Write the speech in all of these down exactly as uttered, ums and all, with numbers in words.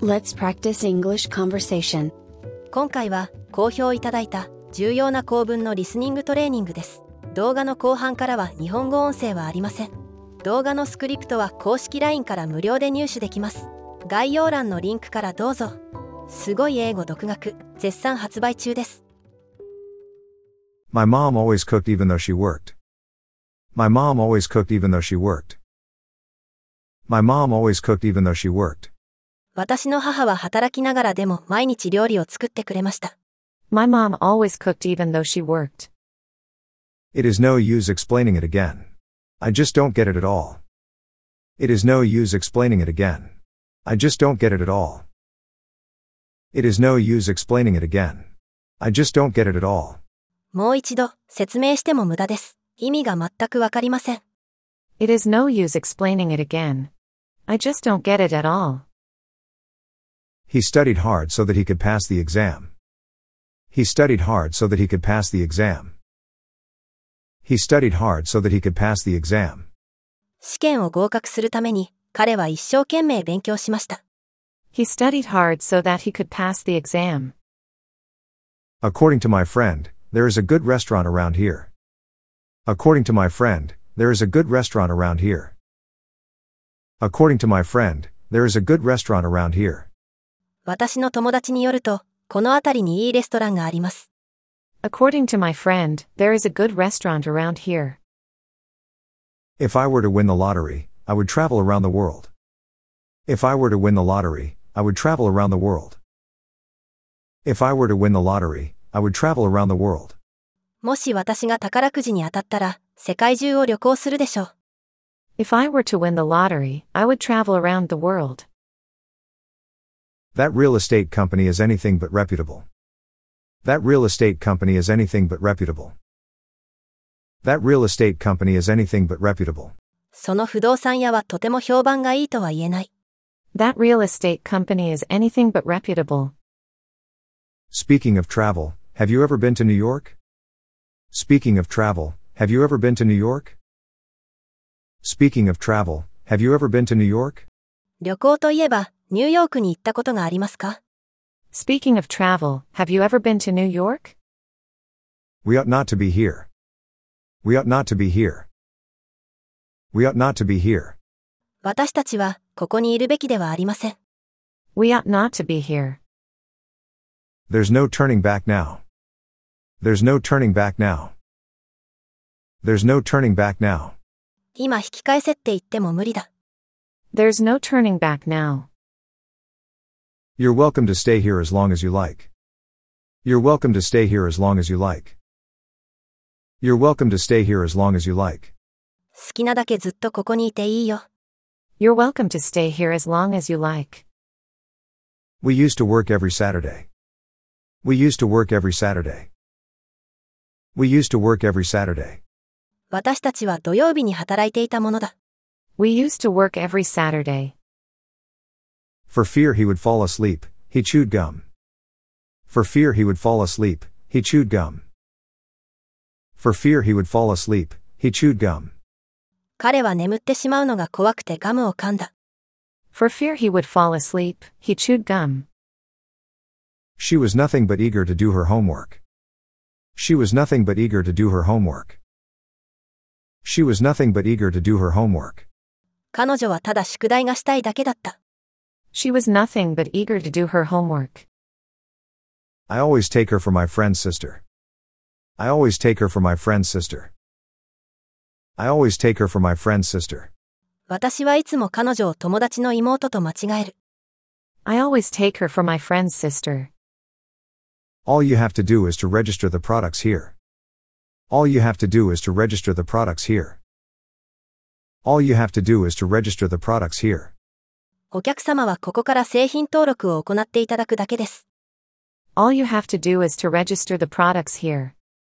Let's practice English conversation. 今回は好評いただいた重要な構文のリスニングトレーニングです。動画の後半からは日本語音声はありません。動画のスクリプトは公式 ライン から無料で入手できます。概要欄のリンクからどうぞ。すごい英語独学絶賛発売中です。 My mom always cooked even though she worked. My mom always cooked even though she worked. My mom always cooked even though she worked. 私の母は働きながらでも毎日料理を作ってくれました。 My mom always cooked even though she worked. It is no use explaining it again. I just don't get it at all. It is no use explaining it again. I just don't get it at all. It is no use explaining it again. I just don't get it at all. もう一度説明しても無駄です。意味が全くわかりません。 It is no use explaining it again. I just don't get it at all. He studied hard so that he could pass the exam. He studied hard so that he could pass the exam. He studied hard so that he could pass the exam. 試験を合格するために彼は一生懸命勉強しました。 He studied hard so that he could pass the exam. According to my friend, there is a good restaurant around here. According to my friend, there is a good restaurant around here. According to my friend, there is a good restaurant around here. 私の友達によると、この辺りにいいレストランがあります。 According to my friend, there is a good restaurant around here. If I were to win the lottery, I would travel around the world. If I were to win the lottery, I would travel around the world. If I were to win the lottery, I would travel around the world. もし私が宝くじに当たったら、世界中を旅行するでしょう。 If I were to win the lottery, I would travel around the world. That real estate company is anything but reputable. That real estate company is anything but reputable. That real estate company is anything but reputable. その不動産屋はとても評判がいいとは言えない。 That real estate company is anything but reputable. Speaking of travel, have you ever been to New York? Speaking of travel, have you ever been to New York? Speaking of travel, have you ever been to New York? 旅行といえば、ニューヨークに行ったことがありますか？ Speaking of travel, have you ever been to New York? We ought not to be here. We ought not to be here. We ought not to be here. 私たちは、ここにいるべきではありません。 We ought not to be here. There's no turning back now. There's no turning back now. There's no turning back now. 今引き返せって言っても無理だ。 There's no turning back now. You're welcome to stay here as long as you like. You're welcome to stay here as long as you like. You're welcome to stay here as long as you like. 好きなだけずっとここにいていいよ。 You're welcome to stay here as long as you like. We used to work every Saturday. We used to work every Saturday. We used to work every Saturday. 私たちは土曜日に働いていたものだ。 We used to work every Saturday. For fear he would fall asleep, he chewed gum. For fear he would fall asleep, he chewed gum. For fear he would fall asleep, he chewed gum. 彼は眠ってしまうのが怖くてガムを噛んだ。 For fear he would fall asleep, he chewed gum. She was nothing but eager to do her homework. She was nothing but eager to do her homework. She was nothing but eager to do her homework. 彼女はただ宿題がしたいだけだった。 She was nothing but eager to do her homework. I always take her for my friend's sister. I always take her for my friend's sister. I always take her for my friend's sister. 私はいつも彼女を友達の妹と間違える。 I always take her for my friend's sister. All you have to do is to register the products here. All you have to do is to register the products here. All you have to do is to register the products here. お客様はここから製品登録を行っていただくだけです。 All you have to do is to register the products here.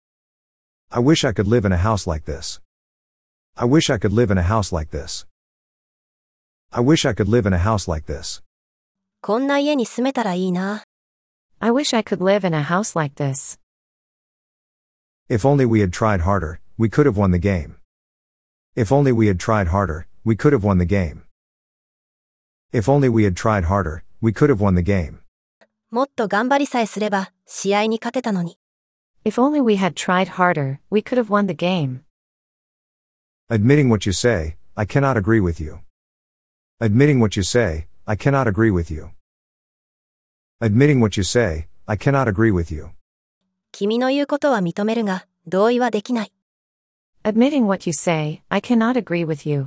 I wish I could live in a house like this. I wish I could live in a house like this. I wish I could live in a house like this. こんな家に住めたらいいな。 I wish I could live in a house like this. If only we had tried harder, we could have won the game. If only we had tried harder, we could have won the game. If only we had tried harder, we could have won the game. もっと頑張りさえすれば、試合に勝てたのに。 If only we had tried harder, we could have won the game. Admitting what you say, I cannot agree with you. Admitting what you say, I cannot agree with you. Admitting what you say, I cannot agree with you. 君の言うことは認めるが、同意はできない。 Admitting what you say, I cannot agree with you.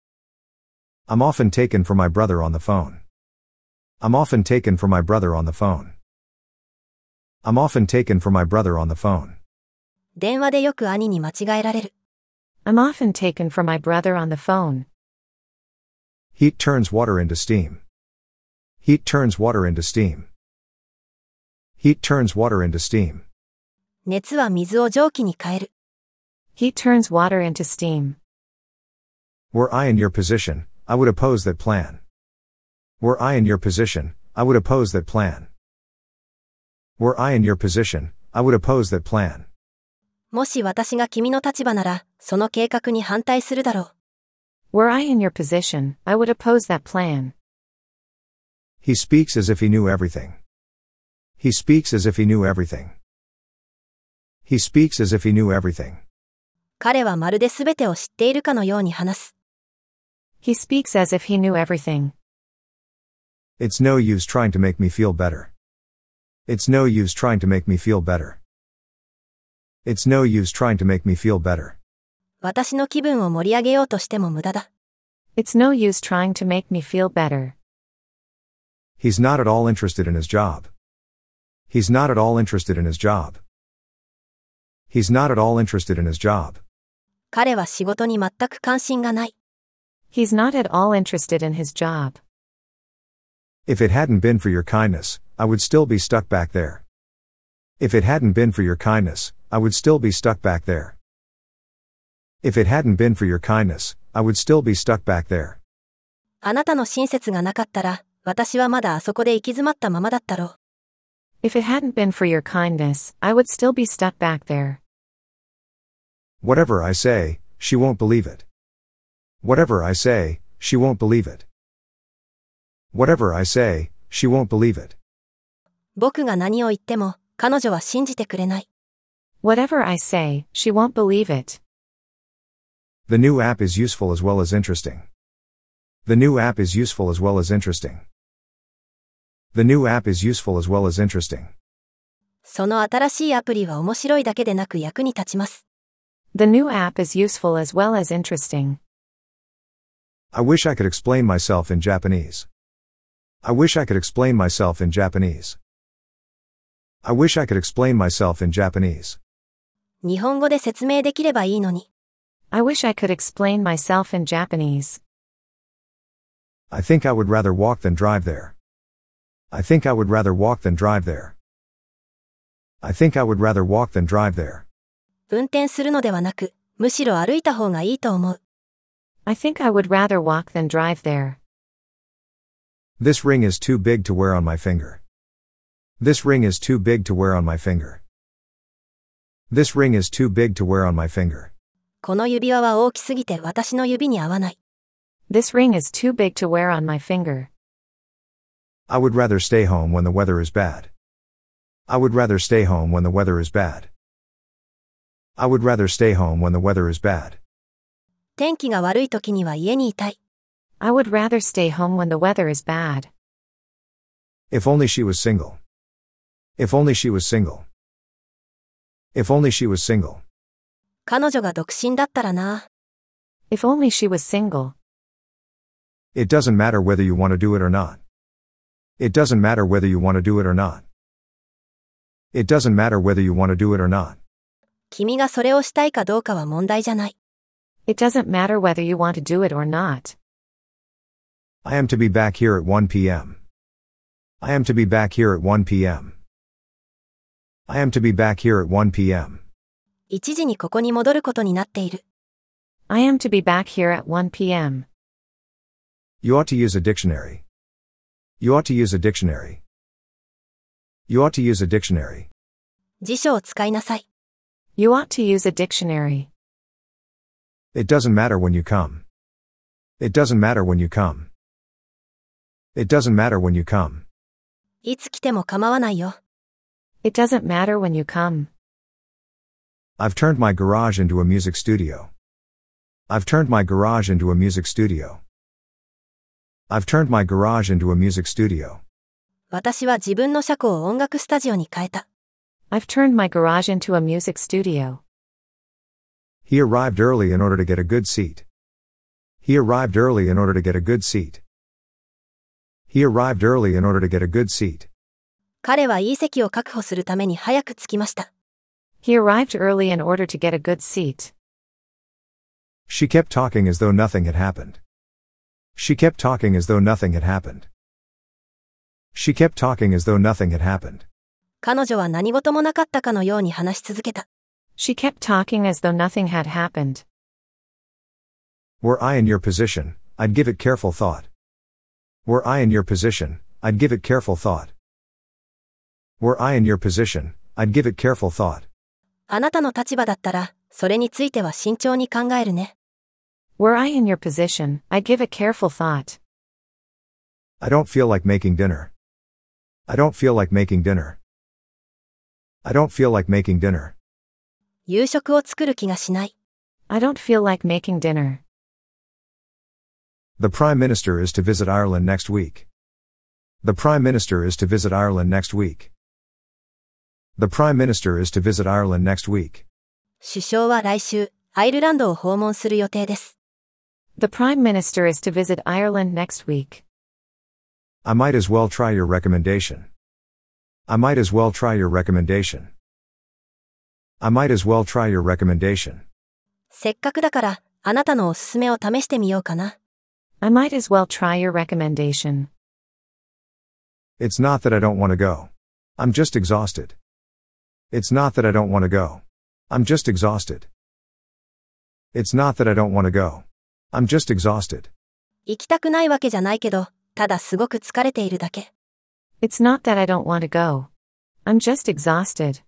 I'm often taken for my brother on the phone. I'm often taken for my brother on the phone. I'm often taken for my brother on the phone. 電話でよく兄に間違えられる。 I'm often taken for my brother on the phone. Heat turns water into steam. Heat turns water into steam. Heat turns water into steam. 熱は水を蒸気に変える。 Heat turns water into steam. Were I in your position, I would oppose that plan. Were I in your position, I would oppose that plan. Were I in your position, I would oppose that plan. もし私が君の立場なら、その計画に反対するだろう。 Were I in your position, I would oppose that plan. He speaks as if he knew everything. He speaks as if he knew everything. He speaks as if he knew everything. 彼はまるで全てを知っているかのように話す。 He speaks as if he knew everything. It's no use trying to make me feel better. It's no use trying to make me feel better. It's no use trying to make me feel better. 私の気分を盛り上げようとしても無駄だ。 It's no use trying to make me feel better. He's not at all interested in his job. He's not at all interested in his job. He's not at all interested in his job. 彼は仕事に全く関心がない。 He's not at all interested in his job. If it hadn't been for your kindness, I would still be stuck back there. If it hadn't been for your kindness, I would still be stuck back there. If it hadn't been for your kindness, I would still be stuck back there. あなたの親切がなかったら、私はまだあそこで行き詰まったままだったろう。 If it hadn't been for your kindness, I would still be stuck back there. Whatever I say, she won't believe it. Whatever I say, she won't believe it. Whatever I say, she won't believe it. 僕が何を言っても、彼女は信じてくれない。 Whatever I say, she won't believe it. The new app is useful as well as interesting. The new app is useful as well as interesting. The new app is useful as well as interesting. その新しいアプリは面白いだけでなく役に立ちます。 The new app is useful as well as interesting. I wish I could explain myself in Japanese. I wish I could explain myself in Japanese. I wish I could explain myself in Japanese. 日本語で説明できればいいのに。 I wish I could explain myself in Japanese. I think I would rather walk than drive there. I think I would rather walk than drive there. I think I would rather walk than drive there. 運転するのではなく、むしろ歩いた方がいいと思う。 I think I would rather walk than drive there. This ring is too big to wear on my finger. This ring is too big to wear on my finger. This ring is too big to wear on my finger. この指輪は大きすぎて私の指に合わない。 This ring is too big to wear on my finger. I would rather stay home when the weather is bad. I would rather stay home when the weather is bad. I would rather stay home when the weather is bad. 天気が悪い時には家にいたい。 I would rather stay home when the weather is bad. If only she was single. If only she was single. If only she was single. 彼女が独身だったらな。 If only she was single. It doesn't matter whether you want to do it or not. It doesn't matter whether you want to do it or not. It doesn't matter whether you want to do it or not. 君がそれをしたいかどうかは問題じゃない。 It doesn't matter whether you want to do it or not. I am to be back here at one p.m. I am to be back here at one p.m. I am to be back here at one p.m. 一時にここに戻ることになっている。 I am to be back here at one p.m. You ought to use a dictionary. You ought to use a dictionary. You ought to use a dictionary. 辞書を使いなさい。 You ought to use a dictionary. It doesn't matter when you come. It doesn't matter when you come. It doesn't matter when you come. いつ来ても構わないよ。 It doesn't matter when you come. I've turned my garage into a music studio. I've turned my garage into a music studio. I've turned my garage into a music studio. 私は自分の車庫を音楽スタジオに変えた。 I've turned my garage into a music studio. He arrived early in order to get a good seat. He arrived early in order to get a good seat. He arrived early in order to get a good seat. 彼はいい席を確保するために早く着きました。 He arrived early in order to get a good seat. She kept talking as though nothing had happened. She kept talking as though nothing had happened. She kept talking as though nothing had happened. 彼女は何事もなかったかのように話し続けた。 She kept talking as though nothing had happened. Were I in your position, I'd give it careful thought. Were I in your position, I'd give it careful thought. Were I in your position, I'd give it careful thought. あなたの立場だったら、それについては慎重に考えるね。 Were I in your position, I'd give it careful thought. I don't feel like making dinner. I don't feel like making dinner. I don't feel like making dinner. 夕食を作る気がしない。 I don't feel like making dinner. The Prime Minister is to visit Ireland next week. The Prime Minister is to visit Ireland next week. The Prime Minister is to visit Ireland next week. 首相は来週、アイルランドを訪問する予定です。 The Prime Minister is to visit Ireland next week. I might as well try your recommendation. I might as well try your recommendation. I might as well try your recommendation. せっかくだから、あなたのおすすめを試してみようかな。 I might as well try your recommendation. It's not that I don't want to go. I'm just exhausted. It's not that I don't want to go. I'm just exhausted. It's not that I don't want to go. I'm just exhausted. 行きたくないわけじゃないけど、ただすごく疲れているだけ。 It's not that I don't want to go. I'm just exhausted.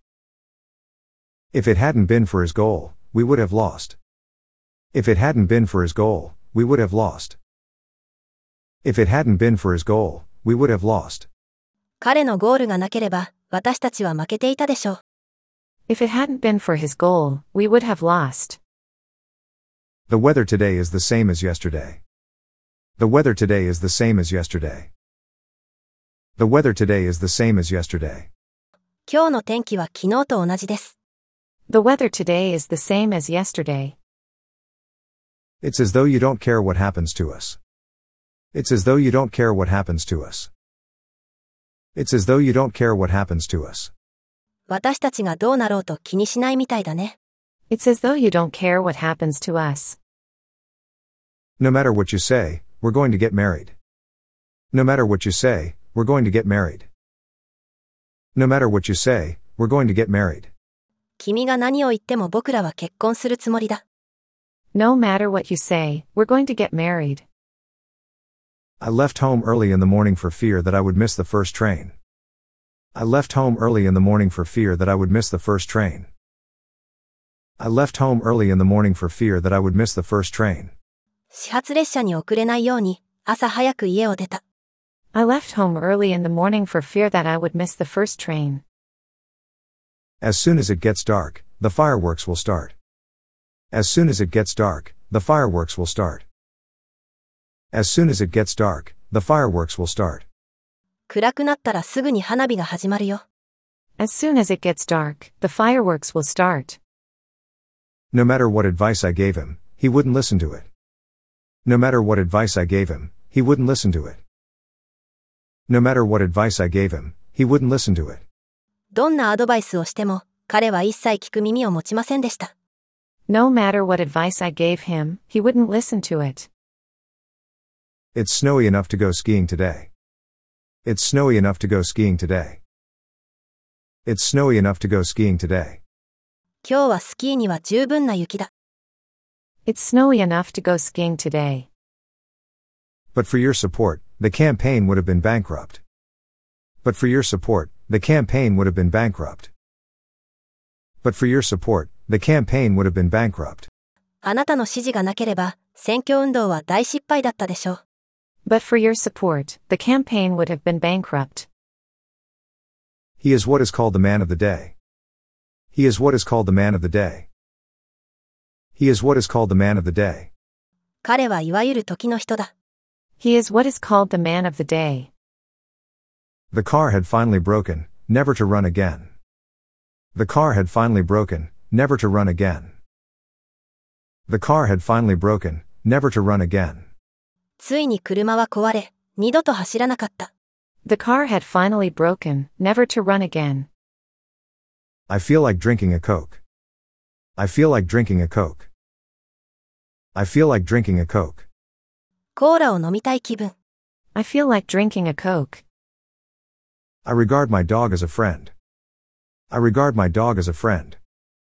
If it hadn't been for his goal, we would have lost. If it hadn't been for his goal, we would have lost. If it hadn't been for his goal, we would have lost. 彼のゴールがなければ、私たちは負けていたでしょう。 If it hadn't been for his goal, we would have lost. The weather today is the same as yesterday. The weather today is the same as yesterday. The weather today is the same as yesterday. 今日の天気は昨日と同じです。 The weather today is the same as yesterday. It's as though you don't care what happens to us. It's as though you don't care what happens to us. It's as though you don't care what happens to us. 私たちがどうなろうと気にしないみたいだね。 It's as though you don't care what happens to us. No matter what you say, we're going to get married. No matter what you say, we're going to get married. No matter what you say, we're going to get married. 君が何を言っても僕らは結婚するつもりだ。 No matter what you say, we're going to get married. I left home early in the morning for fear that I would miss the first train. I left home early in the morning for fear that I would miss the first train. I left home early in the morning for fear that I would miss the first train. 始発列車に遅れないように、朝早く家を出た。 I left home early in the morning for fear that I would miss the first train. As soon as it gets dark, the fireworks will start. As soon as it gets dark, the fireworks will start. As soon as it gets dark, the fireworks will start. 暗くなったらすぐに花火が始まるよ。 As soon as it gets dark, the fireworks will start. No matter what advice I gave him, he wouldn't listen to it. No matter what advice I gave him, he wouldn't listen to it. No matter what advice I gave him, he wouldn't listen to it. どんなアドバイスをしても、彼は一切聞く耳を持ちませんでした。 No matter what advice I gave him, he wouldn't listen to it. It's snowy enough to go skiing today. It's snowy enough to go skiing today. It's snowy enough to go skiing today. 今日はスキーには十分な雪だ。 It's snowy enough to go skiing today. But for your support, the campaign would have been bankrupt. But for your support, the campaign would have been bankrupt. But for your support, the campaign would have been bankrupt. あなたの支持がなければ、選挙運動は大失敗だったでしょう。 But for your support, the campaign would have been bankrupt. He is what is called the man of the day. He is what is called the man of the day. He is what is called the man of the day. 彼はいわゆる時の人だ。 He is what is called the man of the day. The car had finally broken, never to run again. The car had finally broken, never to run again. The car had finally broken, never to run again. ついに車は壊れ、二度と走らなかった。 The car had finally broken, never to run again. I feel like drinking a Coke. I feel like drinking a Coke. I feel like drinking a Coke. コーラを飲みたい気分。 I feel like drinking a Coke. I regard my dog as a friend. I regard my dog as a friend.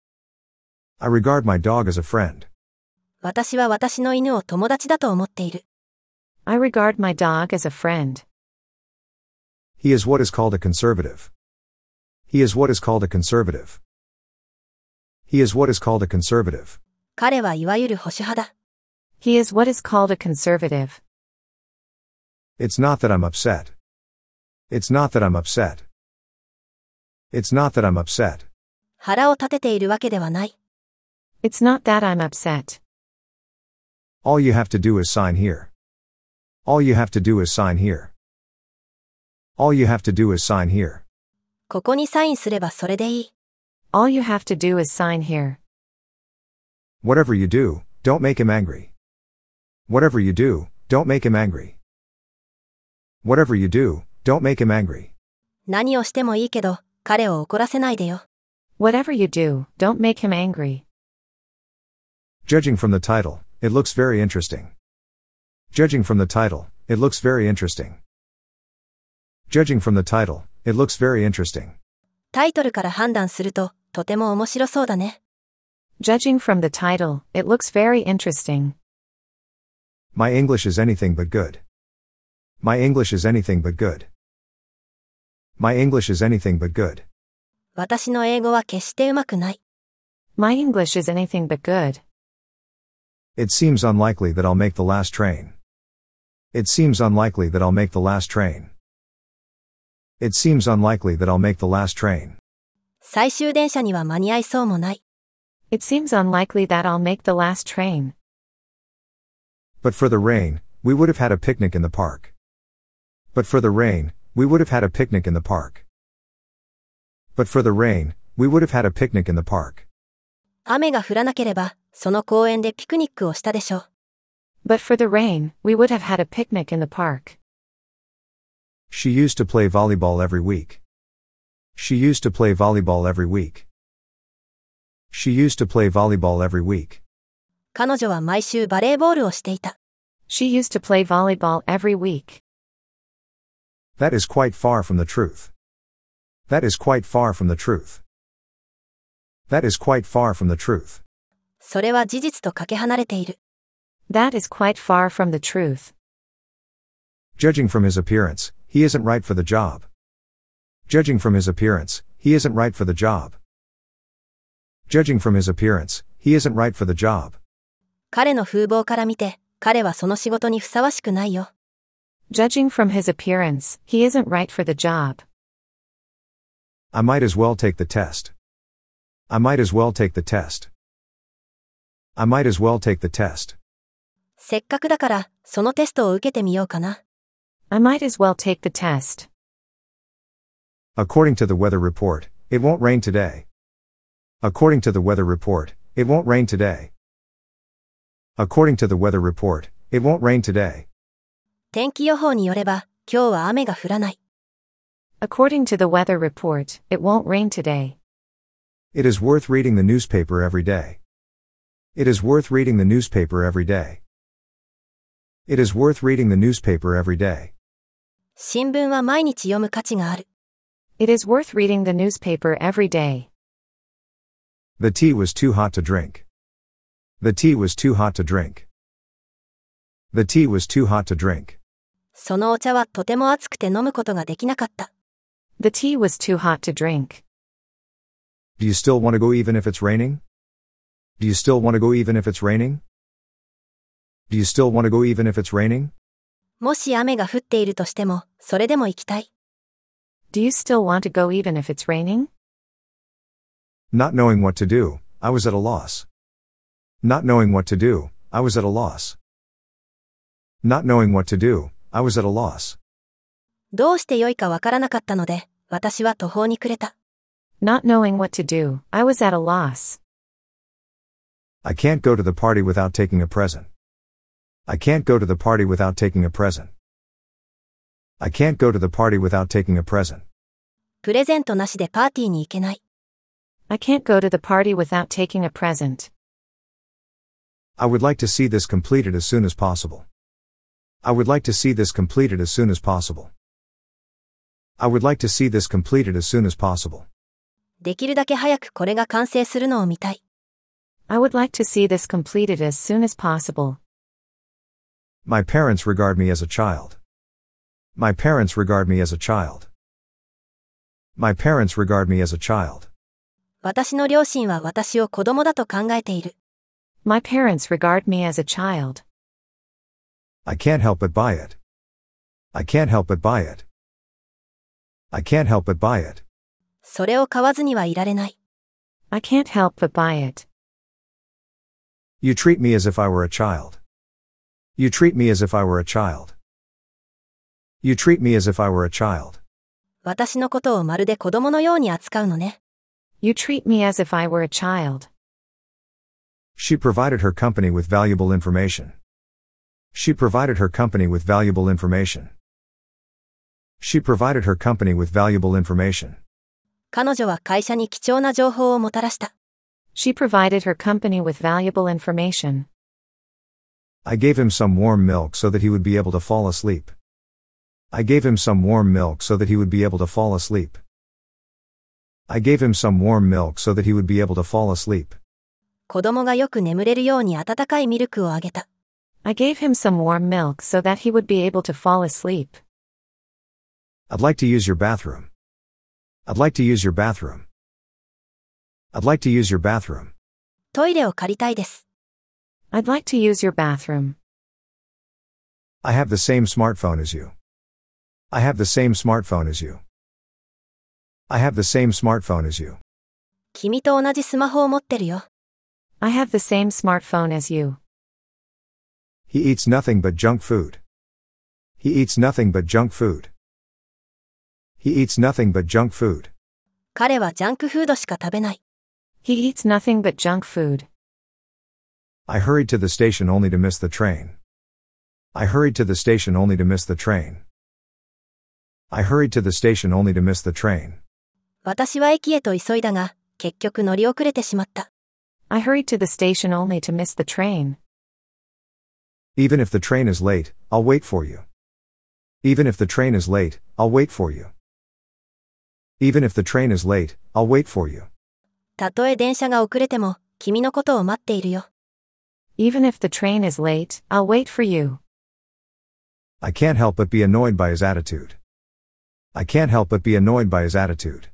I regard my dog as a friend. 私は私の犬を友達だと思っている。 I regard my dog as a friend. He is what is called a conservative. He is what is called a conservative. He is what is called a conservative. 彼はいわゆる保守派だ。 He is what is called a conservative. It's not that I'm upset. It's not that I'm upset. It's not that I'm upset. 腹を立てているわけではない。 It's not that I'm upset. All you have to do is sign here. All you have to do is sign here. All you have to do is sign here. ここにサインすればそれでいい。 All you have to do is sign here. Whatever you do, don't make him angry. Whatever you do, don't make him angry. Whatever you do, don't make him angry. 何をしてもいいけど、彼を怒らせないでよ。 Whatever you do, don't make him angry. Judging from the title, it looks very interesting. Judging from the title, it looks very interesting. Judging from the title, it looks very interesting. タイトルから判断すると、とても面白そうだね。 Judging from the title, it looks very interesting. My English is anything but good. My English is anything but good. My English is anything but good. 私の英語は決してうまくない。 My English is anything but good. It seems unlikely that I'll make the last train. It seems unlikely that I'll make the last train. It seems unlikely that I'll make the last train. 最終電車には間に合いそうもない。 It seems unlikely that I'll make the last train. But for the rain, we would have had a picnic in the park. But for the rain, we would have had a picnic in the park. But for the rain, we would have had a picnic in the park. 雨が降らなければ、その公園でピクニックをしたでしょう。 But for the rain, we would have had a picnic in the park. She used to play volleyball every week. She used to play volleyball every week. She used to play volleyball every week. 彼女は毎週バレーボールをしていた。 She used to play volleyball every week. That is quite far from the truth. That is quite far from the truth. That is quite far from the truth. それは事実とかけ離れている。 That is quite far from the truth. Judging from his appearance, he isn't right for the job. Judging from his appearance, he isn't right for the job. Judging from his appearance, he isn't right for the job. 彼の風貌から見て、彼はその仕事にふさわしくないよ。 Judging from his appearance, he isn't right for the job. I might as well take the test. I might as well take the test. I might as well take the test. せっかくだから、そのテストを受けてみようかな。 I might as well take the test. According to the weather report, it won't rain today. According to the weather report, it won't rain today. According to the weather report, it won't rain today. 天気予報によれば、今日は雨が降らない。 According to the weather report, it won't rain today. It is worth reading the newspaper every day. It is worth reading the newspaper every day. It is worth reading the newspaper every day. 新聞は毎日読む価値がある。 It is worth reading the newspaper every day. The tea was too hot to drink. The tea was too hot to drink. The tea was too hot to drink. そのお茶はとても熱くて飲むことができなかった。 The tea was too hot to drink. Do you still want to go even if it's raining? Do you still want to go even if it's raining? Do you still want to go even if it's raining? もし雨が降っているとしても、それでも行きたい。 Do you still want to go even if it's raining? Not knowing what to do, I was at a loss. Not knowing what to do, I was at a loss. Not knowing what to do, I was at a loss. どうして良いかわからなかったので、私は途方に暮れた。 Not knowing what to do, I was at a loss. I can't go to the party without taking a present. I can't go to the party without taking a present. I can't go to the party without taking a present. プレゼントなしでパーティーに行けない。 I can't go to the party without taking a present. I would like to see this completed as soon as possible. I would like to see this completed as soon as possible. I would like to see this completed as soon as possible. できるだけ早くこれが完成するのを見たい。 I would like to see this completed as soon as possible. My parents regard me as a child. My parents regard me as a child. My parents regard me as a child. 私の両親は私を子供だと考えている。 My parents regard me as a child. I can't help but buy it. I can't help but buy it. I can't help but buy it. それを買わずにはいられない。 I can't help but buy it. You treat me as if I were a child. You treat me as if I were a child. You treat me as if I were a child. 私のことをまるで子供のように扱うのね。 You treat me as if I were a child. She provided her company with valuable information. She provided her company with valuable information. She provided her company with valuable information. 彼女は会社に貴重な情報をもたらした。 She provided her company with valuable information. I gave him some warm milk so that he would be able to fall asleep. I gave him some warm milk so that he would be able to fall asleep. I gave him some warm milk so that he would be able to fall asleep. 子供がよく眠れるように温かいミルクをあげた。 I gave him some warm milk so that he would be able to fall asleep. I'd like to use your bathroom. I'd like to use your bathroom. I'd like to use your bathroom. トイレを借りたいです。 I'd like to use your bathroom. I have the same smartphone as you. I have the same smartphone as you. I have the same smartphone as you. 君と同じスマホを持ってるよ。 I have the same smartphone as you. He eats nothing but junk food. He eats nothing but junk food. He eats nothing but junk food. 彼はジャンクフードしか食べない。 He eats nothing but junk food. I hurried to the station only to miss the train. I hurried to the station only to miss the train. I hurried to the station only to miss the train. 私は駅へと急いだが、結局乗り遅れてしまった。 I hurried to the station only to miss the train. Even if the train is late, I'll wait for you. Even if the train is late, I'll wait for you. Even if the train is late, I'll wait for you. たとえ電車が遅れても、君のことを待っているよ。 Even if the train is late, I'll wait for you. I can't help but be annoyed by his attitude. I can't help but be annoyed by his attitude.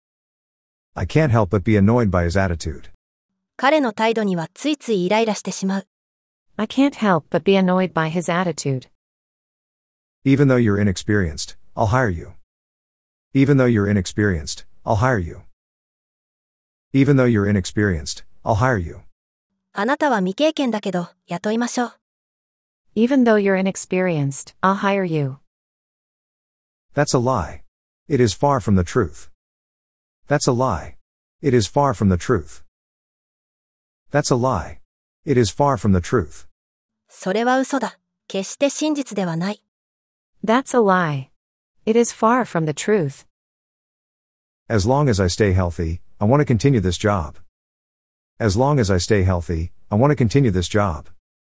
I can't help but be annoyed by his attitude. 彼の態度にはついついイライラしてしまう。 I can't help but be annoyed by his attitude. Even though you're inexperienced, I'll hire you. Even though you're inexperienced, I'll hire you. Even though you're inexperienced, I'll hire you. あなたは未経験だけど、雇いましょう。 Even though you're inexperienced, I'll hire you. That's a lie. It is far from the truth. That's a lie. It is far from the truth. That's a lie. It is far from the truth. それは嘘だ。決して真実ではない。 That's a lie. It is far from the truth. As long as I stay healthy, I want to continue this job. As long as I stay healthy, I want to continue this job.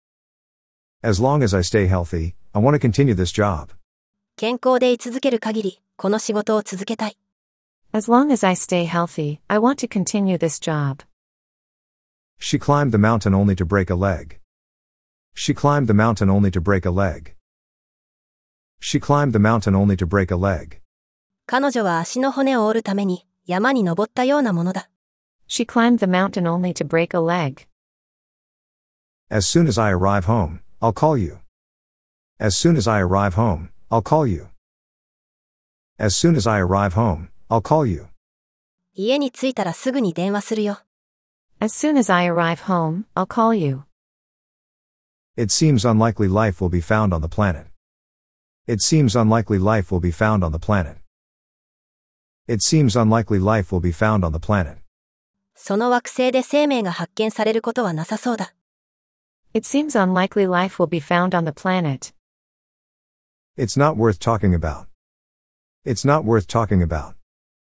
As long as I stay healthy, I want to continue this job. 健康で居続ける限り、この仕事を続けたい。 As long as I stay healthy, I want to continue this job. She climbed the mountain only to break a leg. She climbed the mountain only to break a leg. She climbed the mountain only to break a leg. 彼女は足の骨を折るために山に登ったようなものだ。 She climbed the mountain only to break a leg. As soon as I arrive home, I'll call you. As soon as I arrive home, I'll call you. As soon as I arrive home, I'll call you. 家に着いたらすぐに電話するよ。 As soon as I arrive home, I'll call you. It seems unlikely life will be found on the planet. It seems unlikely life will be found on the planet. It seems unlikely life will be found on the planet. その惑星で生命が発見されることはなさそうだ。 It seems unlikely life will be found on the planet. It's not worth talking about. It's not worth talking about.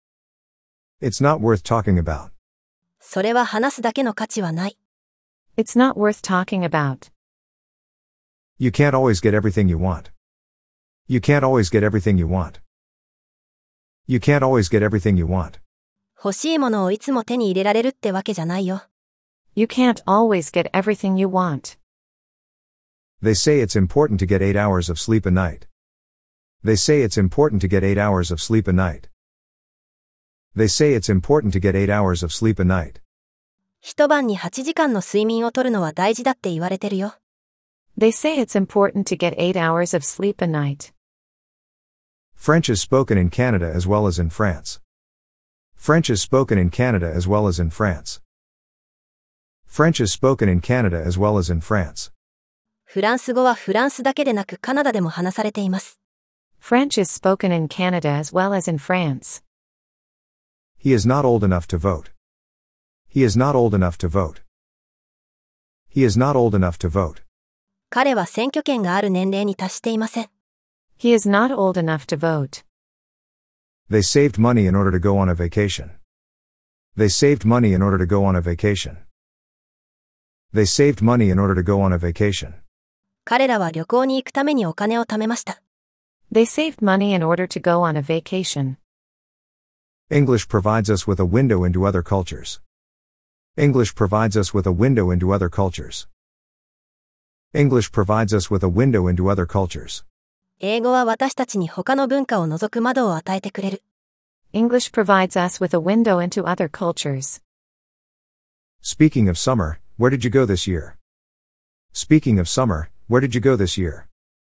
It's not worth talking about. それは話すだけの価値はない。 It's not worth talking about. You can't always get everything you want. You can't always get everything you want. You can't always get everything you want. 欲しいものをいつも手に入れられるってわけじゃないよ。 You can't always get everything you want. They say it's important to get eight hours of sleep a night. They say it's important to get eight hours of sleep a night. They say it's important to get eight hours of sleep a night. 一晩にはちじかんの睡眠をとるのは大事だって言われてるよ。 They say it's important to get eight hours of sleep a night. French is spoken in Canada as well as in France. French is spoken in Canada as well as in France. French is spoken in Canada as well as in France. フランス語はフランスだけでなくカナダでも話されています。 French is spoken in Canada as well as in France. He is not old enough to vote. He is not old enough to vote. He is not old enough to vote. 彼は選挙権がある年齢に達していません。 He is not old enough to vote. They saved money in order to go on a vacation. They saved money in order to go on a vacation. They saved money in order to go on a vacation. 彼らは旅行に行くためにお金を貯めました。 They saved money in order to go on a vacation. English provides us with a window into other cultures. English provides us with a window into other cultures. English provides us with a window into other cultures. 英語は私たちに他の文化を覗く窓を与えてくれる。 English provides us with a window into other cultures. Speaking of summer, where did you go this year? Speaking of summer, where did you go this year?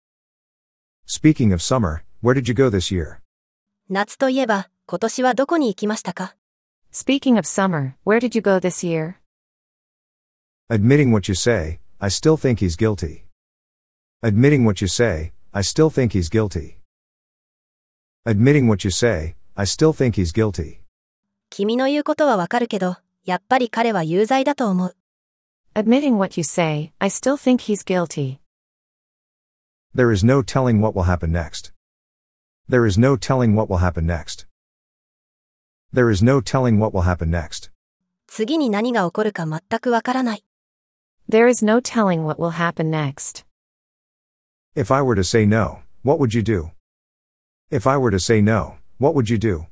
Speaking of summer, where did you go this year? 夏といえば、今年はどこに行きましたか？ Speaking of summer, where did you go this year? Admitting what you say, I still think he's guilty. Admitting what you say, I still think he's guilty. Admitting what you say, I still think he's guilty. 君の言うことはわかるけど、やっぱり彼は有罪だと思う。 Admitting what you say, I still think he's guilty. There is no telling what will happen next. There is no telling what will happen next. There is no telling what will happen next. 次に何が起こるか全くわからない。 There is no telling what will happen next. If I were to say no, what would you do? If I were to say no, what would you do?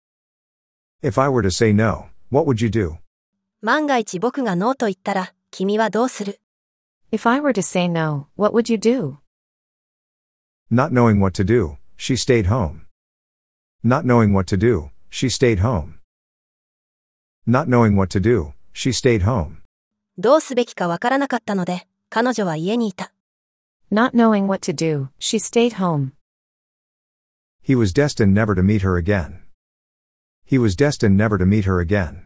If I were to say no, what would you do? 万が一僕がノーと言ったら、君はどうする？ If I were to say no, what would you do? Not knowing what to do, she stayed home. Not knowing what to do, she stayed home. Not knowing what to do, she stayed home. どうすべきかわからなかったので、彼女は家にいた。 Not knowing what to do, she stayed home. He was destined never to meet her again. He was destined never to meet her again.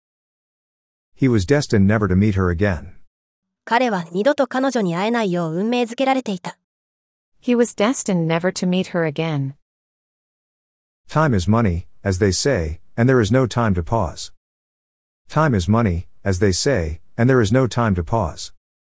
He was destined never to meet her again. 彼は二度と彼女に会えないよう運命づけられていた。 He was destined never to meet her again. Time is money, as they say, and there is no time to pause. Time is money, as they say, and there is no time to pause.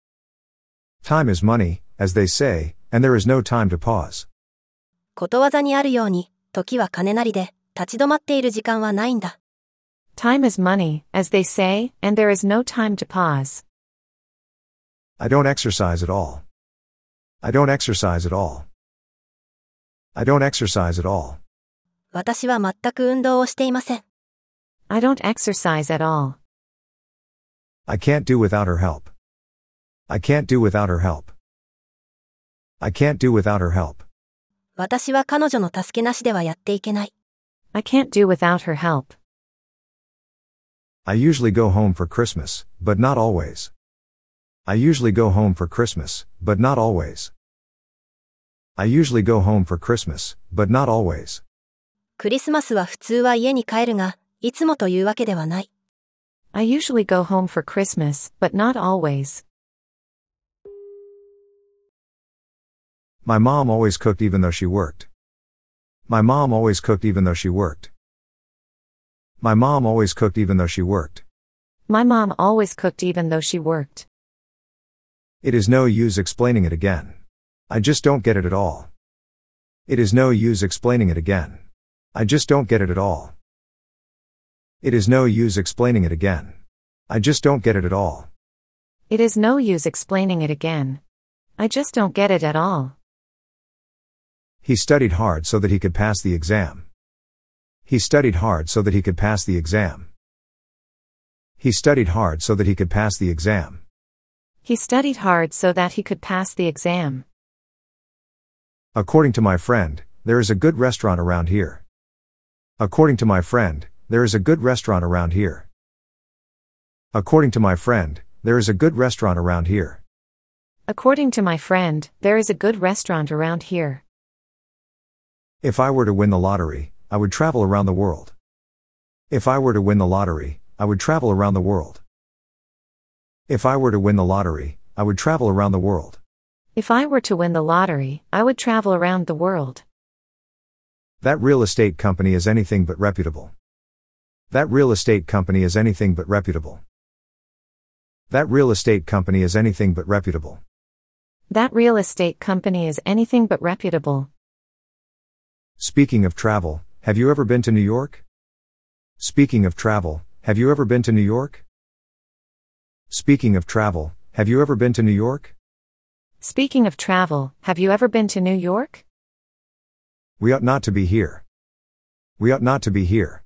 Time is money, as they say, and there is no time to pause. ことわざにあるように、時は金なりで、立ち止まっている時間はないんだ。 Time is money, as they say, and there is no time to pause. I don't exercise at all. I don't exercise at all. I don't exercise at all. 私は全く運動をしていません。 I don't exercise at all. I can't do without her help. I can't do without her help. I can't do without her help. 私は彼女の助けなしではやっていけない。 I can't do without her help. I usually go home for Christmas, but not always. I usually go home for Christmas, but not always. I usually go home for Christmas, but not always. クリスマスは普通は家に帰るが、いつもというわけではない。 I usually go home for Christmas, but not always. My mom always cooked even though she worked. My mom always cooked even though she worked. My mom always cooked even though she worked. My mom always cooked even though she worked. It is no use explaining it again. I just don't get it at all. It is no use explaining it again. I just don't get it at all. It is no use explaining it again. I just don't get it at all. It is no use explaining it again. I just don't get it at all. He studied hard so that he could pass the exam. He studied hard so that he could pass the exam. He studied hard so that he could pass the exam. He studied hard so that he could pass the exam. According to my friend, there is a good restaurant around here. According to my friend, there is a good restaurant around here. According to my friend, there is a good restaurant around here. According to my friend, there is a good restaurant around here. If I were to win the lottery, I would travel around the world. If I were to win the lottery, I would travel around the world. If I were to win the lottery, I would travel around the world. If I were to win the lottery, I would travel around the world. That real estate company is anything but reputable. That real estate company is anything but reputable. That real estate company is anything but reputable. That real estate company is anything but reputable. Speaking of travel, have you ever been to New York? Speaking of travel, have you ever been to New York? Speaking of travel, have you ever been to New York? Speaking of travel, have you ever been to New York? We ought not to be here. We ought not to be here.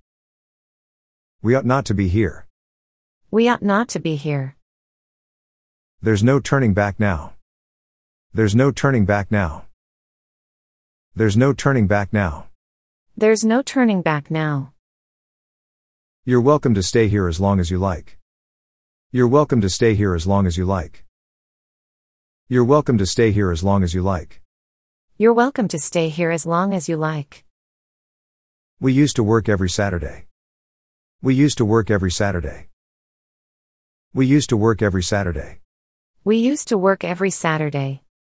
We ought not to be here. We ought not to be here. There's no turning back now. There's no turning back now. There's no turning back now. There's no turning back now. You're welcome to stay here as long as you like. You're welcome to stay here as long as you like. You're welcome to stay here as long as you like. You're welcome to stay here as long as you like. We used to work every Saturday. We used to work every Saturday. We used to work every Saturday. We used to work every Saturday.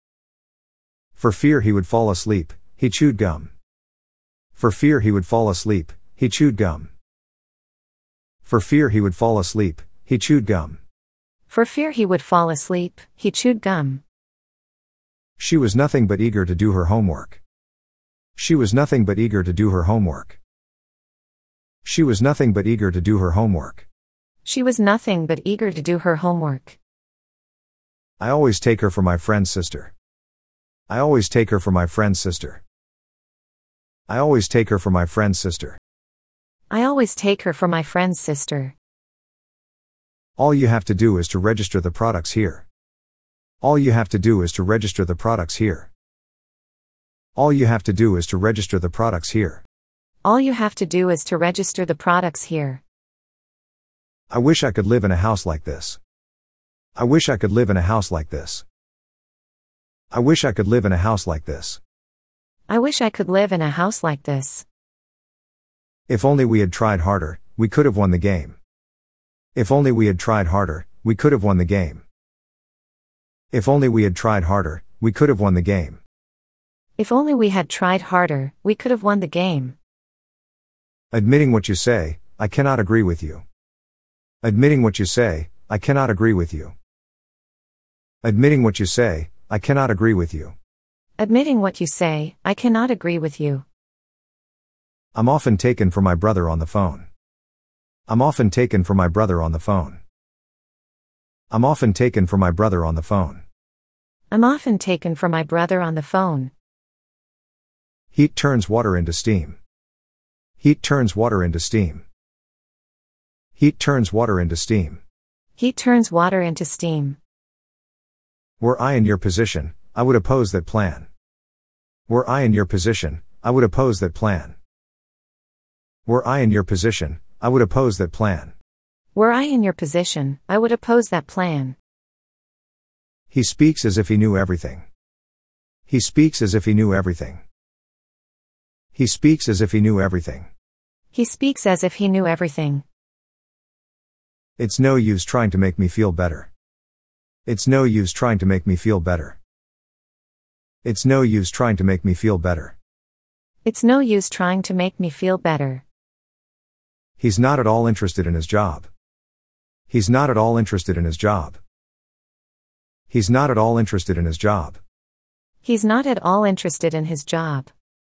For fear he would fall asleep, he chewed gum. For fear he would fall asleep, he chewed gum. For fear he would fall asleep, he chewed gum. For fear he would fall asleep, he chewed gum. She was nothing but eager to do her homework. She was nothing but eager to do her homework. She was nothing but eager to do her homework. She was nothing but eager to do her homework. I always take her for my friend's sister. I always take her for my friend's sister. I always take her for my friend's sister. I always take her for my friend's sister. All you have to do is to register the products here. All you have to do is to register the products here. All you have to do is to register the products here. All you have to do is to register the products here. I wish I could live in a house like this. I wish I could live in a house like this. I wish I could live in a house like this. I wish I could live in a house like this. If only we had tried harder, we could have won the game. If only we had tried harder, we could have won the game. If only we had tried harder, we could have won the game. If only we had tried harder, we could have won the game. Admitting what you say, I cannot agree with you. Admitting what you say, I cannot agree with you. Admitting what you say, I cannot agree with you. Admitting what you say, I cannot agree with you. I'm often taken for my brother on the phone. I'm often taken for my brother on the phone. I'm often taken for my brother on the phone. I'm often taken for my brother on the phone. Heat turns water into steam. Heat turns water into steam. Heat turns water into steam. Heat turns water into steam. Were I in your position, I would oppose that plan. Were I in your position, I would oppose that plan. Were I in your position, I would oppose that plan. Were I in your position, I would oppose that plan. He speaks as if he knew everything. He speaks as if he knew everything. He speaks as if he knew everything. He speaks as if he knew everything. It's no use trying to make me feel better. It's no use trying to make me feel better. It's no use trying to make me feel better. It's no use trying to make me feel better. He's not at all interested in his job. He's not at all interested in his job. He's not at all interested in his job. He's not at all interested in his job.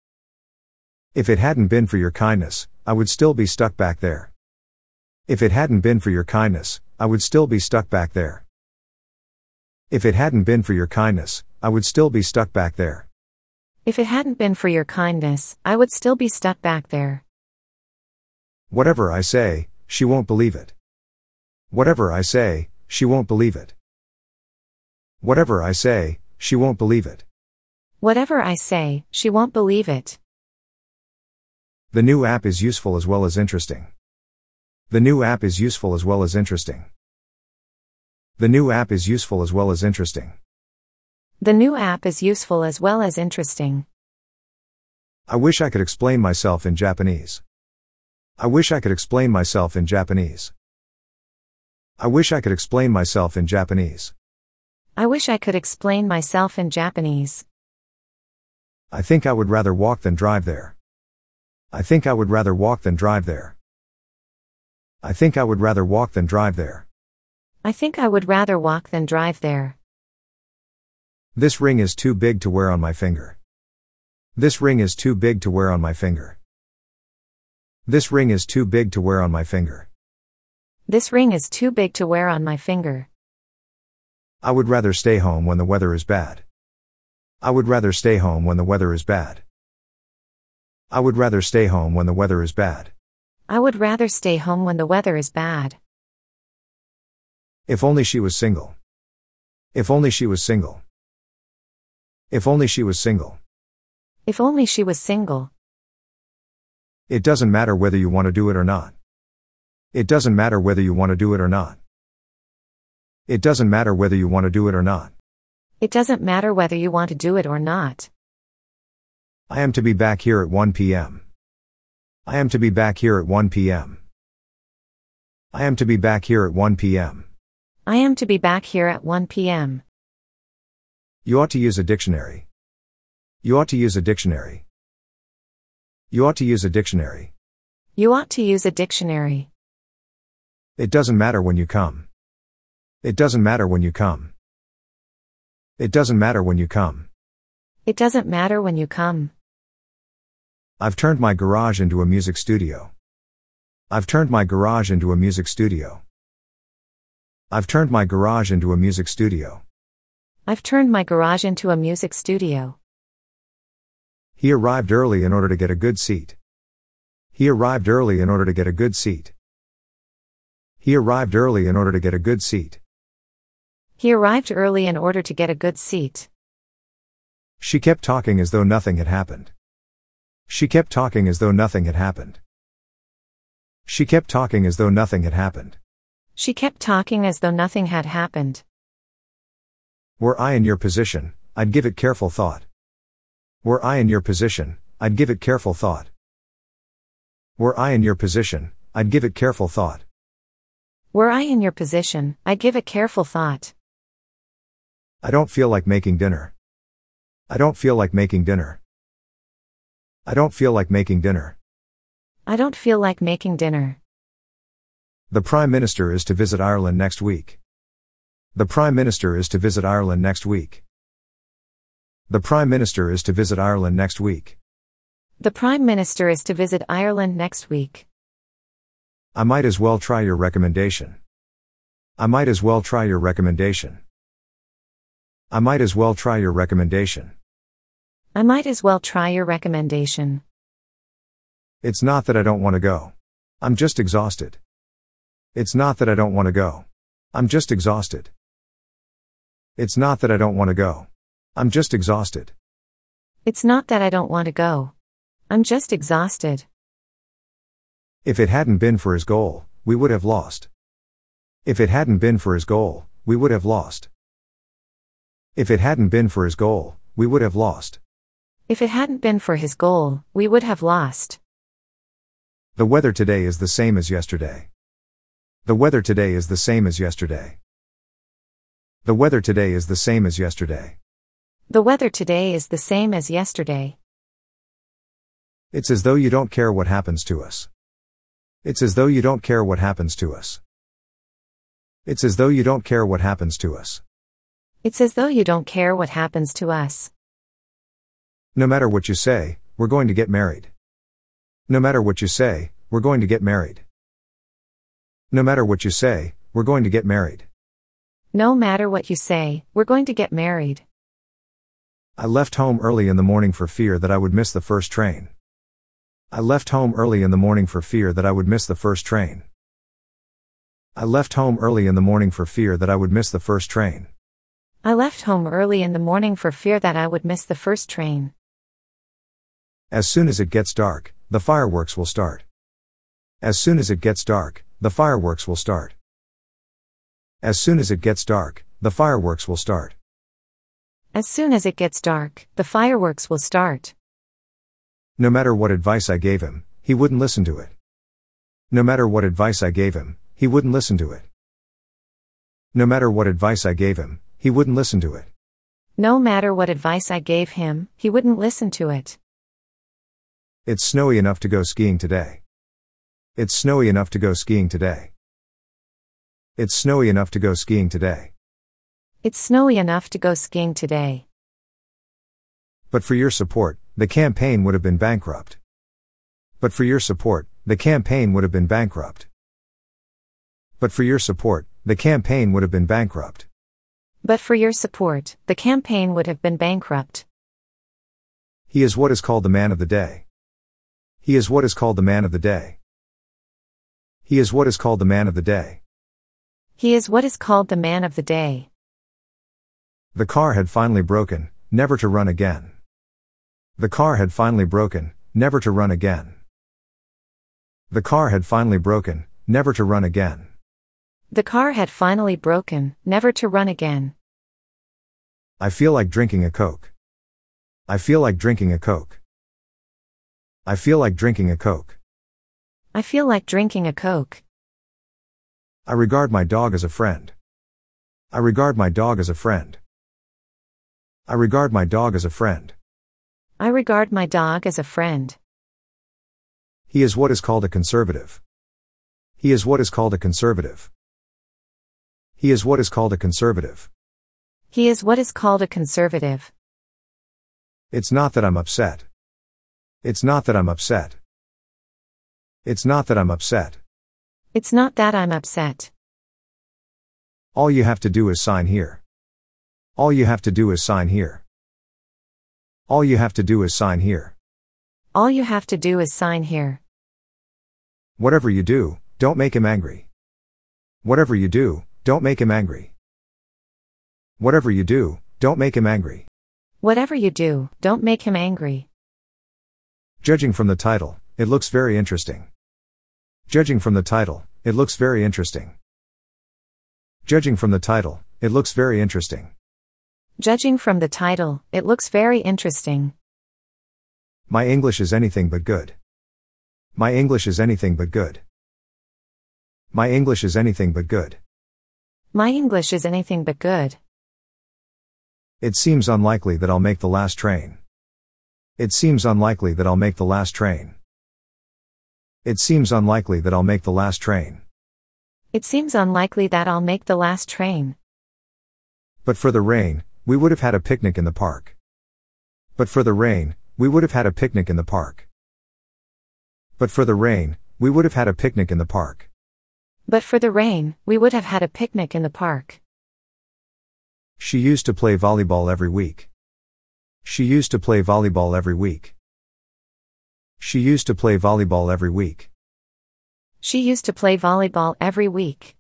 If it hadn't been for your kindness, I would still be stuck back there. If it hadn't been for your kindness, I would still be stuck back there. If it hadn't been for your kindness, I would still be stuck back there. If it hadn't been for your kindness, I would still be stuck back there. Whatever I say, she won't believe it. Whatever I say, she won't believe it. Whatever I say, she won't believe it. Whatever I say, she won't believe it. The new app is useful as well as interesting. The new app is useful as well as interesting. The new app is useful as well as interesting. The new app is useful as well as interesting. I wish I could explain myself in Japanese. I wish I could explain myself in Japanese. I wish I could explain myself in Japanese. I wish I could explain myself in Japanese. I think I would rather walk than drive there. I think I would rather walk than drive there. I think I would rather walk than drive there. I think I would rather walk than drive there. This ring is too big to wear on my finger. This ring is too big to wear on my finger. This ring is too big to wear on my finger. This ring is too big to wear on my finger. I would rather stay home when the weather is bad. I would rather stay home when the weather is bad. I would rather stay home when the weather is bad. I would rather stay home when the weather is bad. If only she was single. If only she was single. If only she was single. If only she was single. It doesn't matter whether you want to do it or not. It doesn't matter whether you want to do it or not. It doesn't matter whether you want to do it or not. It doesn't matter whether you want to do it or not. I am to be back here at one p.m. I am to be back here at one p.m. I am to be back here at one p.m. I am to be back here at one p.m. You ought to use a dictionary. You ought to use a dictionary. You ought to use a dictionary. You ought to use a dictionary. It doesn't matter when you come. It doesn't matter when you come. It doesn't matter when you come. It doesn't matter when you come. I've turned my garage into a music studio. I've turned my garage into a music studio. I've turned my garage into a music studio. I've turned my garage into a music studio. He arrived early in order to get a good seat. He arrived early in order to get a good seat. He arrived early in order to get a good seat. He arrived early in order to get a good seat. She kept talking as though nothing had happened. She kept talking as though nothing had happened. She kept talking as though nothing had happened. She kept talking as though nothing had happened. Were I in your position, I'd give it careful thought. Were I in your position, I'd give it careful thought. Were I in your position, I'd give it careful thought. Were I in your position, I'd give it careful thought. I don't feel like making dinner. I don't feel like making dinner. I don't feel like making dinner. I don't feel like making dinner. The Prime Minister is to visit Ireland next week. The Prime Minister is to visit Ireland next week. The Prime Minister is to visit Ireland next week. The Prime Minister is to visit Ireland next week. I might as well try your recommendation. I might as well try your recommendation. I might as well try your recommendation. I might as well try your recommendation. It's not that I don't want to go. I'm just exhausted. It's not that I don't want to go. I'm just exhausted. It's not that I don't want to go. I'm just exhausted. It's not that I don't want to go. I'm just exhausted. If it hadn't been for his goal, we would have lost. If it hadn't been for his goal, we would have lost. If it hadn't been for his goal, we would have lost. If it hadn't been for his goal, we would have lost. The weather today is the same as yesterday. The weather today is the same as yesterday. The weather today is the same as yesterday. The weather today is the same as yesterday. It's as though you don't care what happens to us. It's as though you don't care what happens to us. It's as though you don't care what happens to us. It's as though you don't care what happens to us. No matter what you say, we're going to get married. No matter what you say, we're going to get married. No matter what you say, we're going to get married. No matter what you say, we're going to get married. I left home early in the morning for fear that I would miss the first train. I left home early in the morning for fear that I would miss the first train. I left home early in the morning for fear that I would miss the first train. I left home early in the morning for fear that I would miss the first train. As soon as it gets dark, the fireworks will start. As soon as it gets dark, the fireworks will start. As soon as it gets dark, the fireworks will start. As soon as it gets dark, the fireworks will start. No matter what advice I gave him, he wouldn't listen to it. No matter what advice I gave him, he wouldn't listen to it. No matter what advice I gave him, he wouldn't listen to it. No matter what advice I gave him, he wouldn't listen to it. It's snowy enough to go skiing today. It's snowy enough to go skiing today. It's snowy enough to go skiing today. It's snowy enough to go skiing today. But for your support, the campaign would have been bankrupt. But for your support, the campaign would have been bankrupt. But for your support, the campaign would have been bankrupt. But for your support, the campaign would have been bankrupt. He is what is called the man of the day. He is what is called the man of the day. He is what is called the man of the day. He is what is called the man of the day. The car had finally broken, never to run again. The car had finally broken, never to run again. The car had finally broken, never to run again. The car had finally broken, never to run again. I feel like drinking a Coke. I feel like drinking a Coke. I feel like drinking a Coke. I feel like drinking a Coke. I regard my dog as a friend. I regard my dog as a friend. I regard my dog as a friend. I regard my dog as a friend. He is what is called a conservative. He is what is called a conservative. He is what is called a conservative. He is what is called a conservative. It's not that I'm upset. It's not that I'm upset. It's not that I'm upset. It's not that I'm upset. All you have to do is sign here. All you have to do is sign here. All you have to do is sign here. All you have to do is sign here. Whatever you do, don't make him angry. Whatever you do, don't make him angry. Whatever you do, don't make him angry. Whatever you do, don't make him angry. Judging from the title, it looks very interesting. Judging from the title, it looks very interesting. Judging from the title, it looks very interesting. Judging from the title, it looks very interesting. My English is anything but good. My English is anything but good. My English is anything but good. My English is anything but good. It seems unlikely that I'll make the last train. It seems unlikely that I'll make the last train. It seems unlikely that I'll make the last train. It seems unlikely that I'll make the last train. But for the rain, we would have had a picnic in the park. But for the rain, we would have had a picnic in the park. But for the rain, we would have had a picnic in the park. But for the rain, we would have had a picnic in the park. She used to play volleyball every week. She used to play volleyball every week. She used to play volleyball every week. She used to play volleyball every week.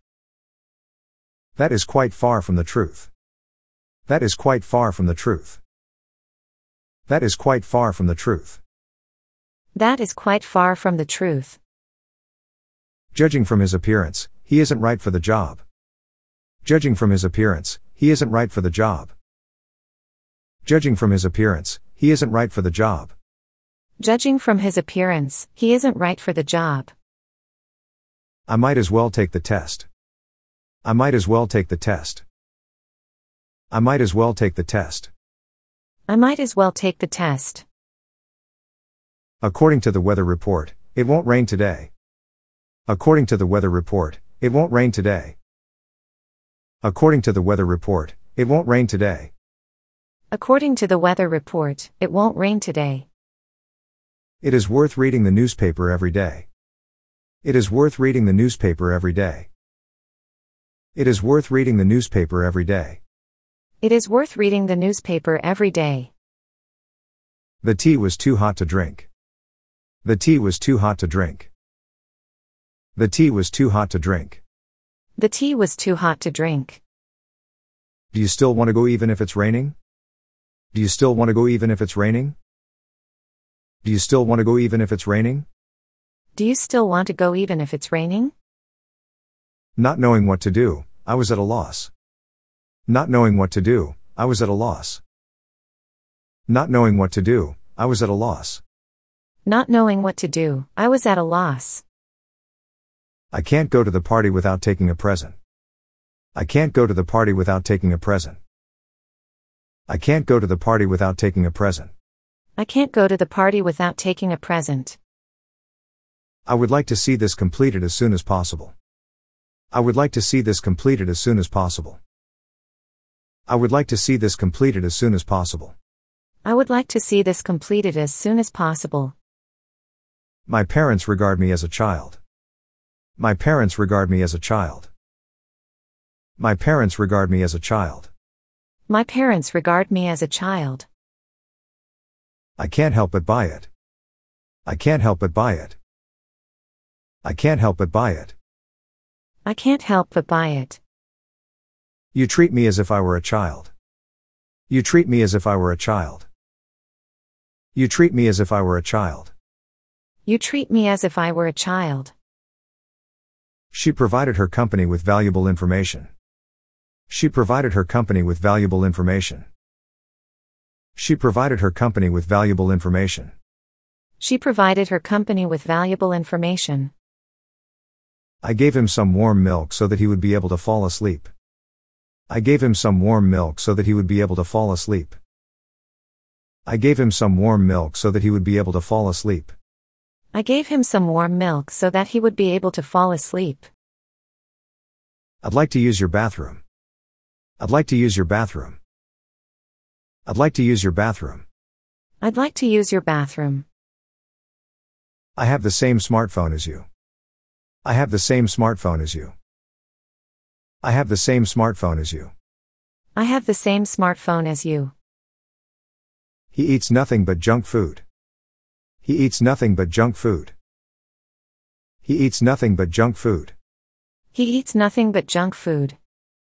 That is quite far from the truth. That is quite far from the truth. That is quite far from the truth. That is quite far from the truth. Judging from his appearance, he isn't right for the job. Judging from his appearance, he isn't right for the job. Judging from his appearance, he isn't right for the job. Judging from his appearance, he isn't right for the job. I might as well take the test. I might as well take the test. I might as well take the test. I might as well take the test. According to the weather report, it won't rain today. According to the weather report, it won't rain today. According to the weather report, it won't rain today. According to the weather report, it won't rain today. It is worth reading the newspaper every day. It is worth reading the newspaper every day. It is worth reading the newspaper every day. It is worth reading the newspaper every day. The tea was too hot to drink. The tea was too hot to drink. The tea was too hot to drink. The tea was too hot to drink. Do you still want to go even if it's raining? Do you still want to go even if it's raining? Do you still want to go even if it's raining? Do you still want to go even if it's raining? Not knowing what to do, I was at a loss. Not knowing what to do, I was at a loss. Not knowing what to do, I was at a loss. Not knowing what to do, I was at a loss. I can't go to the party without taking a present. I can't go to the party without taking a present. I can't go to the party without taking a present. I can't go to the party without taking a present. I would like to see this completed as soon as possible. I would like to see this completed as soon as possible. I would like to see this completed as soon as possible. I would like to see this completed as soon as possible. My parents regard me as a child. My parents regard me as a child. My parents regard me as a child. My parents regard me as a child. I can't help but buy it. I can't help but buy it. I can't help but buy it. I can't help but buy it. You treat me as if I were a child. You treat me as if I were a child. You treat me as if I were a child. You treat me as if I were a child. She provided her company with valuable information. She provided her company with valuable information. She provided her company with valuable information. She provided her company with valuable information. I gave him some warm milk so that he would be able to fall asleep. I gave him some warm milk so that he would be able to fall asleep. I gave him some warm milk so that he would be able to fall asleep. I gave him some warm milk so that he would be able to fall asleep. I'd like to use your bathroom. I'd like to use your bathroom. I'd like to use your bathroom. I'd like to use your bathroom. I have the same smartphone as you. I have the same smartphone as you. I have the same smartphone as you. I have the same smartphone as you. He eats nothing but junk food. He eats nothing but junk food. He eats nothing but junk food. He eats nothing but junk food.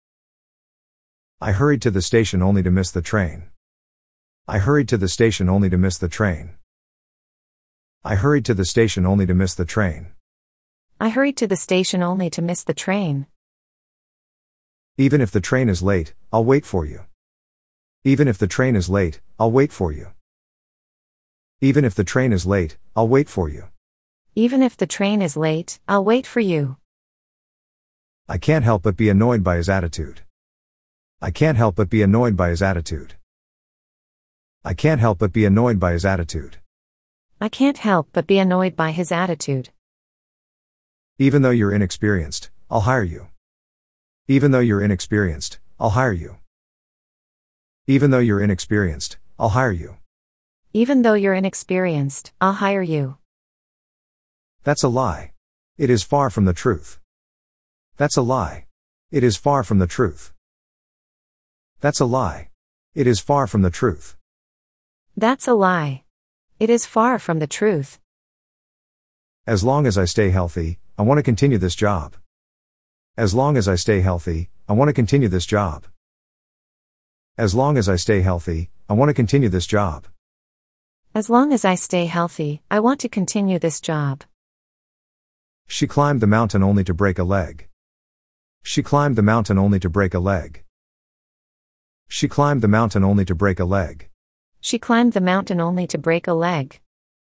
I hurried to the station only to miss the train. I hurried to the station only to miss the train. I hurried to the station only to miss the train. I hurried to the station only to miss the train. Even if the train is late, I'll wait for you. Even if the train is late, I'll wait for you. Even if the train is late, I'll wait for you. Even if the train is late, I'll wait for you. I can't help but be annoyed by his attitude. I can't help but be annoyed by his attitude. I can't help but be annoyed by his attitude. I can't help but be annoyed by his attitude. Even though you're inexperienced, I'll hire you. Even though you're inexperienced, I'll hire you. Even though you're inexperienced, I'll hire you. Even though you're inexperienced, I'll hire you. That's a lie. It is far from the truth. That's a lie. It is far from the truth. That's a lie. It is far from the truth. That's a lie. It is far from the truth. As long as I stay healthy, I want to continue this job. As long as I stay healthy, I want to continue this job. As long as I stay healthy, I want to continue this job. As long as I stay healthy, I want to continue this job. She climbed the mountain only to break a leg. She climbed the mountain only to break a leg. She climbed the mountain only to break a leg. She climbed the mountain only to break a leg.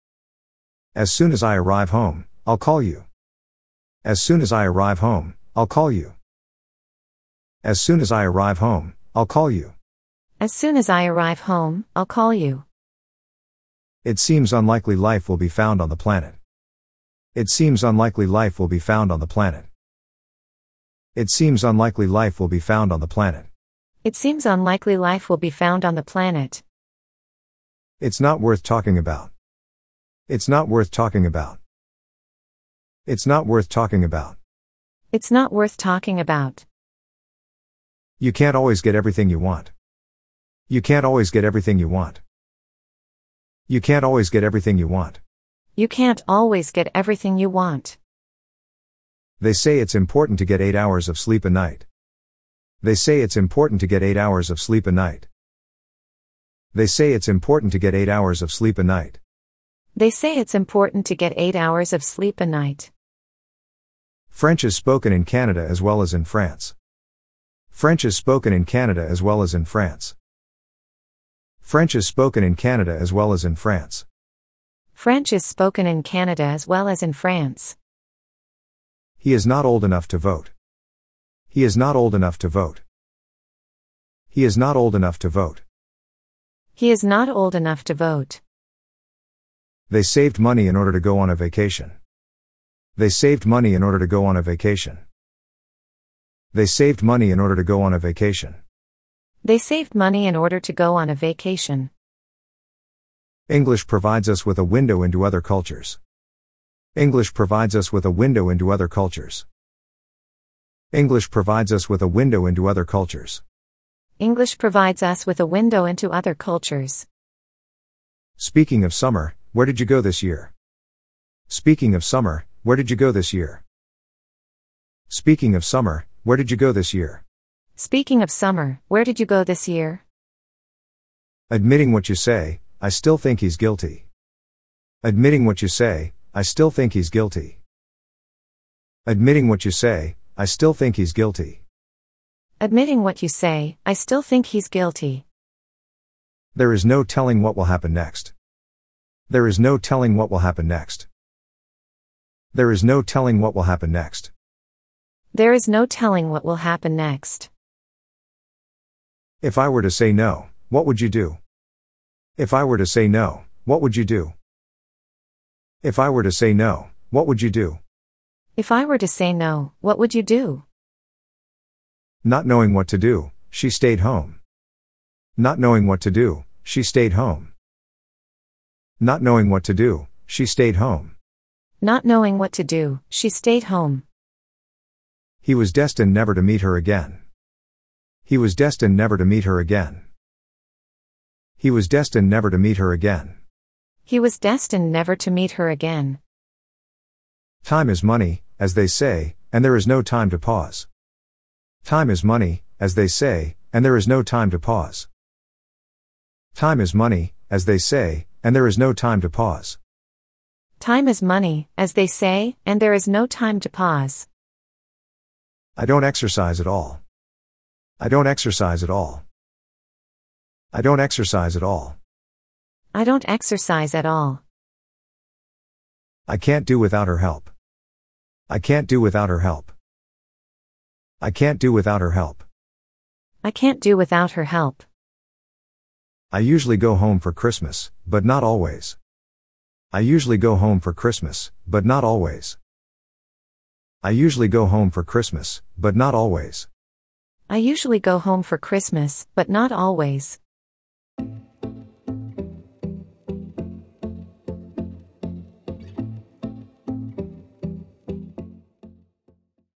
As soon as I arrive home, I'll call you. As soon as I arrive home, I'll call you. As soon as I arrive home, I'll call you. As soon as I arrive home, I'll call you. It seems unlikely life will be found on the planet. It seems unlikely life will be found on the planet. It seems unlikely life will be found on the planet. It seems unlikely life will be found on the planet. It's not worth talking about. It's not worth talking about. It's not worth talking about. It's not worth talking about. You can't always get everything you want. You can't always get everything you want. You can't always get everything you want. You can't always get everything you want. They say it's important to get eight hours of sleep a night. They say it's important to get eight hours of sleep a night. They say it's important to get eight hours of sleep a night. They say it's important to get eight hours of sleep a night. French is spoken in Canada as well as in France. French is spoken in Canada as well as in France. French is spoken in Canada as well as in France. French is spoken in Canada as well as in France. He is not old enough to vote. He is not old enough to vote. He is not old enough to vote. He is not old enough to vote. They saved money in order to go on a vacation. They saved money in order to go on a vacation. They saved money in order to go on a vacation. They saved money in order to go on a vacation. English provides us with a window into other cultures. English provides us with a window into other cultures. English provides us with a window into other cultures. English provides us with a window into other cultures. Speaking of summer, where did you go this year? Speaking of summer, where did you go this year? Speaking of summer, where did you go this year? Speaking of summer, where did you go this year? Admitting what you say, I still think he's guilty. Admitting what you say, I still think he's guilty. Admitting what you say, I still think he's guilty. Admitting what you say, I still think he's guilty. There is no telling what will happen next. There is no telling what will happen next. There is no telling what will happen next. There is no telling what will happen next. If I were to say no, what would you do? If I were to say no, what would you do? If I were to say no, what would you do? If I were to say no, what would you do? Not knowing what to do, she stayed home. Not knowing what to do, she stayed home. Not knowing what to do, she stayed home. Not knowing what to do, she stayed home. He was destined never to meet her again. He was destined never to meet her again. He was destined never to meet her again. He was destined never to meet her again. Time is money, as they say, and there is no time to pause. Time is money, as they say, and there is no time to pause. Time is money, as they say, and there is no time to pause. Time is money, as they say, and there is no time to pause. I don't exercise at all. I don't exercise at all. I don't exercise at all. I don't exercise at all. I can't do without her help. I can't do without her help. I can't do without her help. I can't do without her help. I usually go home for Christmas, but not always. I usually go home for Christmas, but not always. I usually go home for Christmas, but not always. I usually go home for Christmas, but not always.